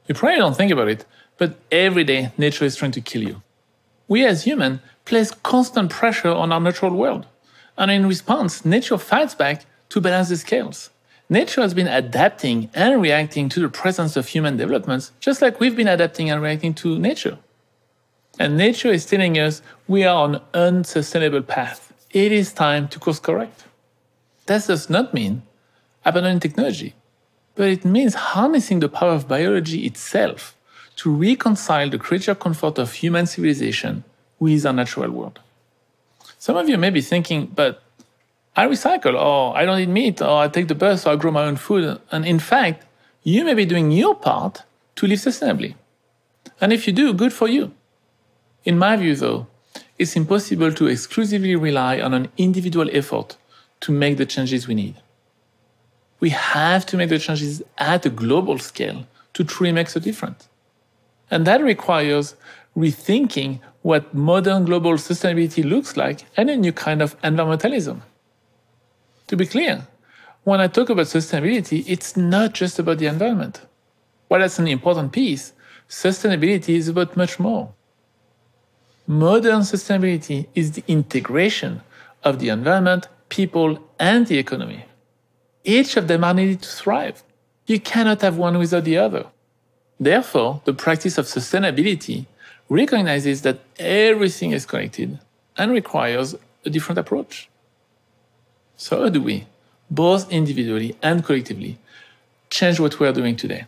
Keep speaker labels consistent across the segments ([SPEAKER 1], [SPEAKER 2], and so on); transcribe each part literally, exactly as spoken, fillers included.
[SPEAKER 1] You probably don't think about it, but every day nature is trying to kill you. We as humans place constant pressure on our natural world. And in response, nature fights back to balance the scales. Nature has been adapting and reacting to the presence of human developments, just like we've been adapting and reacting to nature. And nature is telling us we are on an unsustainable path. It is time to course correct. That does not mean abandoning technology, but it means harnessing the power of biology itself to reconcile the creature comfort of human civilization with our natural world. Some of you may be thinking, but I recycle, or I don't eat meat, or I take the bus, or I grow my own food. And in fact, you may be doing your part to live sustainably. And if you do, good for you. In my view, though, it's impossible to exclusively rely on an individual effort to make the changes we need. We have to make the changes at a global scale to truly make a difference. And that requires rethinking what modern global sustainability looks like and a new kind of environmentalism. To be clear, when I talk about sustainability, it's not just about the environment. While that's an important piece, sustainability is about much more. Modern sustainability is the integration of the environment, people, and the economy. Each of them are needed to thrive. You cannot have one without the other. Therefore, the practice of sustainability recognizes that everything is connected and requires a different approach. So how do we, both individually and collectively, change what we are doing today?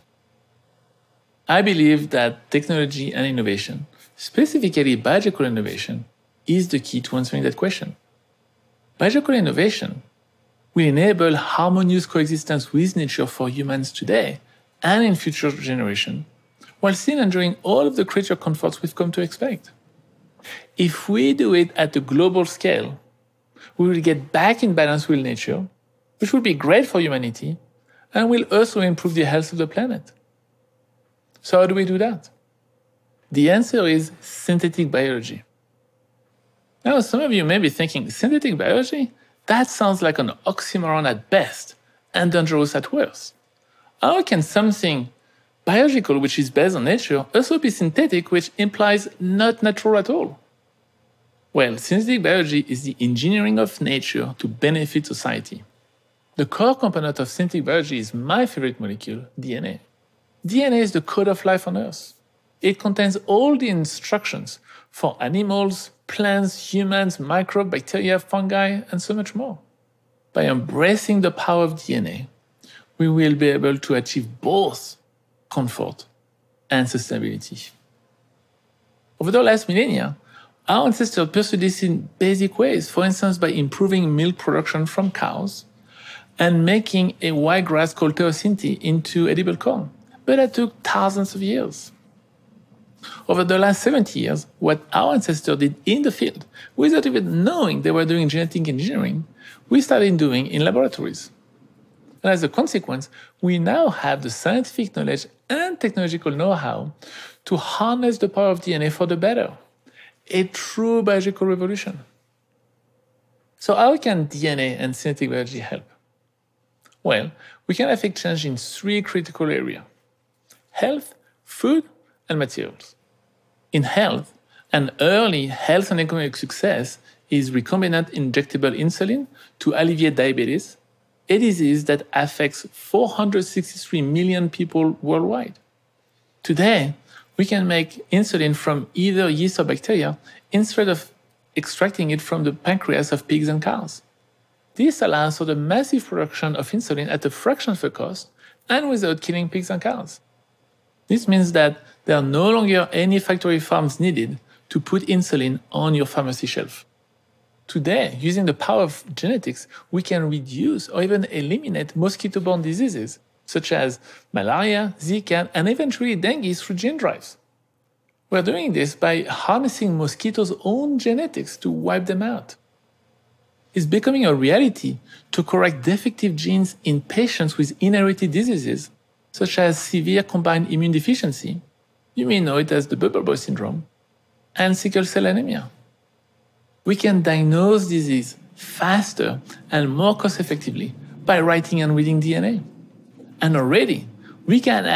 [SPEAKER 1] I believe that technology and innovation, specifically biological innovation, is the key to answering that question. Biological innovation will enable harmonious coexistence with nature for humans today and in future generations, while still enjoying all of the creature comforts we've come to expect. If we do it at a global scale, we will get back in balance with nature, which will be great for humanity, and will also improve the health of the planet. So how do we do that? The answer is synthetic biology. Now, some of you may be thinking, synthetic biology? That sounds like an oxymoron at best and dangerous at worst. How can something biological, which is based on nature, also be synthetic, which implies not natural at all? Well, synthetic biology is the engineering of nature to benefit society. The core component of synthetic biology is my favorite molecule, D N A. D N A is the code of life on Earth. It contains all the instructions for animals, plants, humans, microbes, bacteria, fungi, and so much more. By embracing the power of D N A, we will be able to achieve both comfort and sustainability. Over the last millennia, our ancestors pursued this in basic ways, for instance by improving milk production from cows and making a white grass called teosinte into edible corn. But that took thousands of years. Over the last seventy years, what our ancestors did in the field, without even knowing they were doing genetic engineering, we started doing in laboratories. And as a consequence, we now have the scientific knowledge and technological know-how to harness the power of D N A for the better. A true biological revolution. So how can D N A and synthetic biology help? Well, we can affect change in three critical areas: health, food, and materials. In health, an early health and economic success is recombinant injectable insulin to alleviate diabetes, a disease that affects four hundred sixty-three million people worldwide. Today, we can make insulin from either yeast or bacteria instead of extracting it from the pancreas of pigs and cows. This allows for the massive production of insulin at a fraction of the cost and without killing pigs and cows. This means that there are no longer any factory farms needed to put insulin on your pharmacy shelf. Today, using the power of genetics, we can reduce or even eliminate mosquito-borne diseases, such as malaria, Zika, and eventually dengue through gene drives. We're doing this by harnessing mosquitoes' own genetics to wipe them out. It's becoming a reality to correct defective genes in patients with inherited diseases, such as severe combined immune deficiency, you may know it as the bubble boy syndrome, and sickle cell anemia. We can diagnose disease faster and more cost-effectively by writing and reading D N A. And already, we can add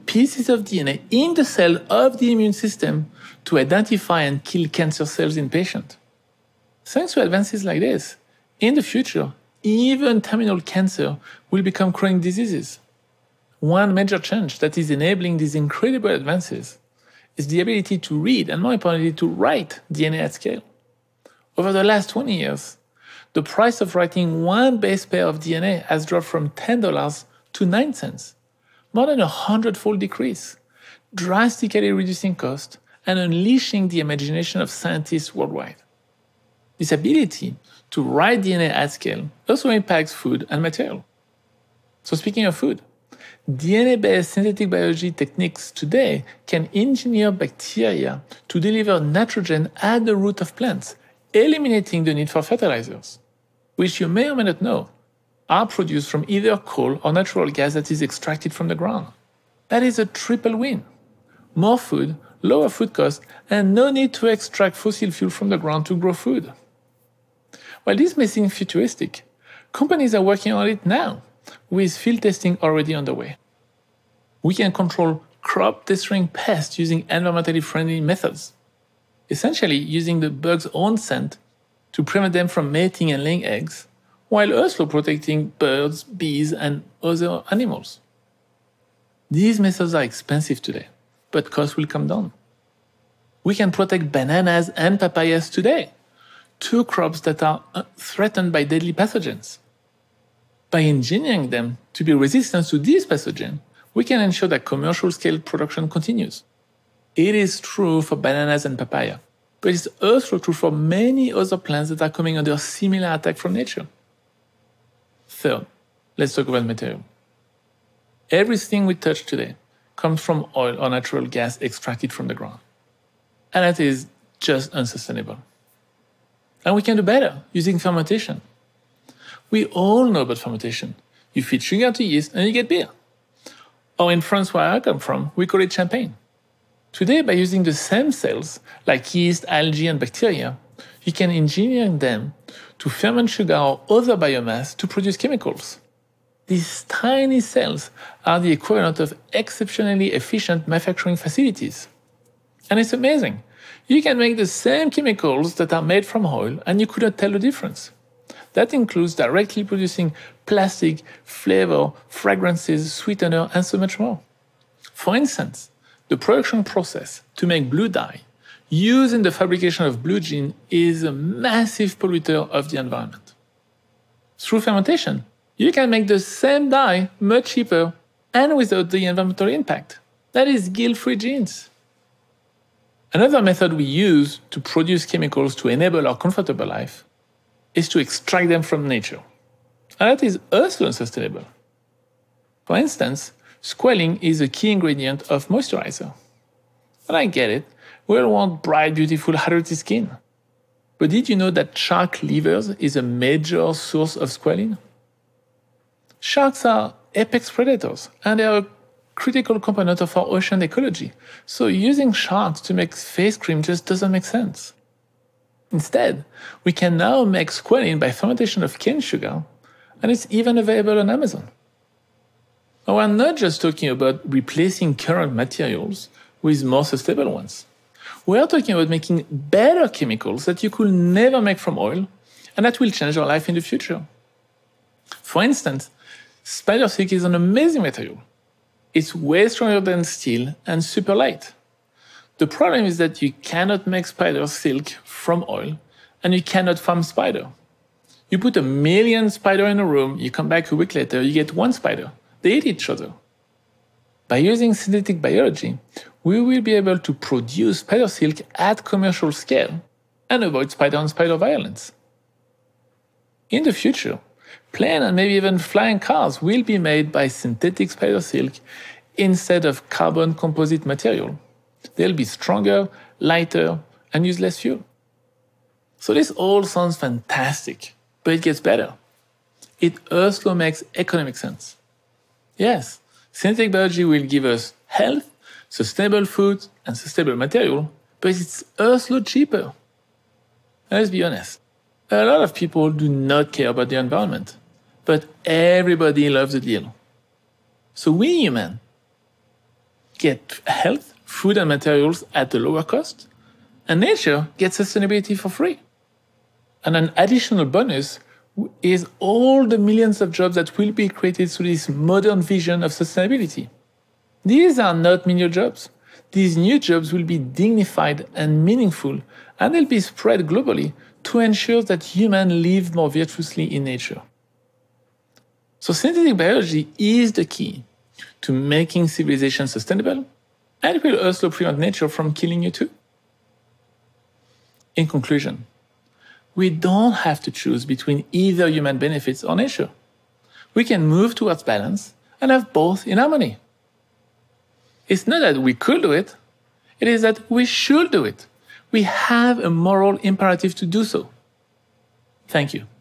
[SPEAKER 1] pieces of D N A in the cell of the immune system to identify and kill cancer cells in patients. Thanks to advances like this, in the future, even terminal cancer will become chronic diseases. One major change that is enabling these incredible advances is the ability to read and, more importantly, to write D N A at scale. Over the last twenty years, the price of writing one base pair of D N A has dropped from ten dollars to nine cents, more than a hundredfold decrease, drastically reducing cost and unleashing the imagination of scientists worldwide. This ability to write D N A at scale also impacts food and material. So speaking of food, D N A-based synthetic biology techniques today can engineer bacteria to deliver nitrogen at the root of plants, eliminating the need for fertilizers, which you may or may not know are produced from either coal or natural gas that is extracted from the ground. That is a triple win. More food, lower food costs, and no need to extract fossil fuel from the ground to grow food. While this may seem futuristic, companies are working on it now, with field testing already underway. We can control crop-destroying pests using environmentally friendly methods, essentially using the bug's own scent to prevent them from mating and laying eggs, while also protecting birds, bees, and other animals. These methods are expensive today, but costs will come down. We can protect bananas and papayas today, two crops that are threatened by deadly pathogens. By engineering them to be resistant to these pathogens, we can ensure that commercial-scale production continues. It is true for bananas and papaya, but it's also true for many other plants that are coming under similar attack from nature. Third, let's talk about material. Everything we touch today comes from oil or natural gas extracted from the ground. And that is just unsustainable. And we can do better using fermentation. We all know about fermentation. You feed sugar to yeast and you get beer. Or in France, where I come from, we call it champagne. Today, by using the same cells, like yeast, algae, and bacteria, you can engineer them to ferment sugar or other biomass to produce chemicals. These tiny cells are the equivalent of exceptionally efficient manufacturing facilities. And it's amazing. You can make the same chemicals that are made from oil, and you couldn't tell the difference. That includes directly producing plastic, flavor, fragrances, sweetener, and so much more. For instance, the production process to make blue dye used in the fabrication of blue jeans is a massive polluter of the environment. Through fermentation, you can make the same dye much cheaper and without the environmental impact. That is guilt-free jeans. Another method we use to produce chemicals to enable our comfortable life is to extract them from nature. And that is also unsustainable. For instance, squalene is a key ingredient of moisturizer. And I get it, we all want bright, beautiful, hydrated skin. But did you know that shark livers is a major source of squalene? Sharks are apex predators, and they are a critical component of our ocean ecology. So using sharks to make face cream just doesn't make sense. Instead, we can now make squalene by fermentation of cane sugar, and it's even available on Amazon. But we're not just talking about replacing current materials with more sustainable ones. We are talking about making better chemicals that you could never make from oil, and that will change your life in the future. For instance, spider silk is an amazing material. It's way stronger than steel and super light. The problem is that you cannot make spider silk from oil, and you cannot farm spider. You put a million spiders in a room, you come back a week later, you get one spider. They eat each other. By using synthetic biology, we will be able to produce spider silk at commercial scale and avoid spider-on-spider violence. In the future, plane and maybe even flying cars will be made by synthetic spider silk instead of carbon composite material. They'll be stronger, lighter, and use less fuel. So this all sounds fantastic, but it gets better. It also makes economic sense. Yes, synthetic biology will give us health, sustainable food, and sustainable material, but it's also cheaper. Let's be honest, a lot of people do not care about the environment, but everybody loves a deal. So we humans, get health, food, and materials at a lower cost, and nature gets sustainability for free. And an additional bonus is all the millions of jobs that will be created through this modern vision of sustainability. These are not menial jobs. These new jobs will be dignified and meaningful, and they'll be spread globally to ensure that humans live more virtuously in nature. So synthetic biology is the key to making civilization sustainable, and it will also prevent nature from killing you too. In conclusion, we don't have to choose between either human benefits or nature. We can move towards balance and have both in harmony. It's not that we could do it, it is that we should do it. We have a moral imperative to do so. Thank you.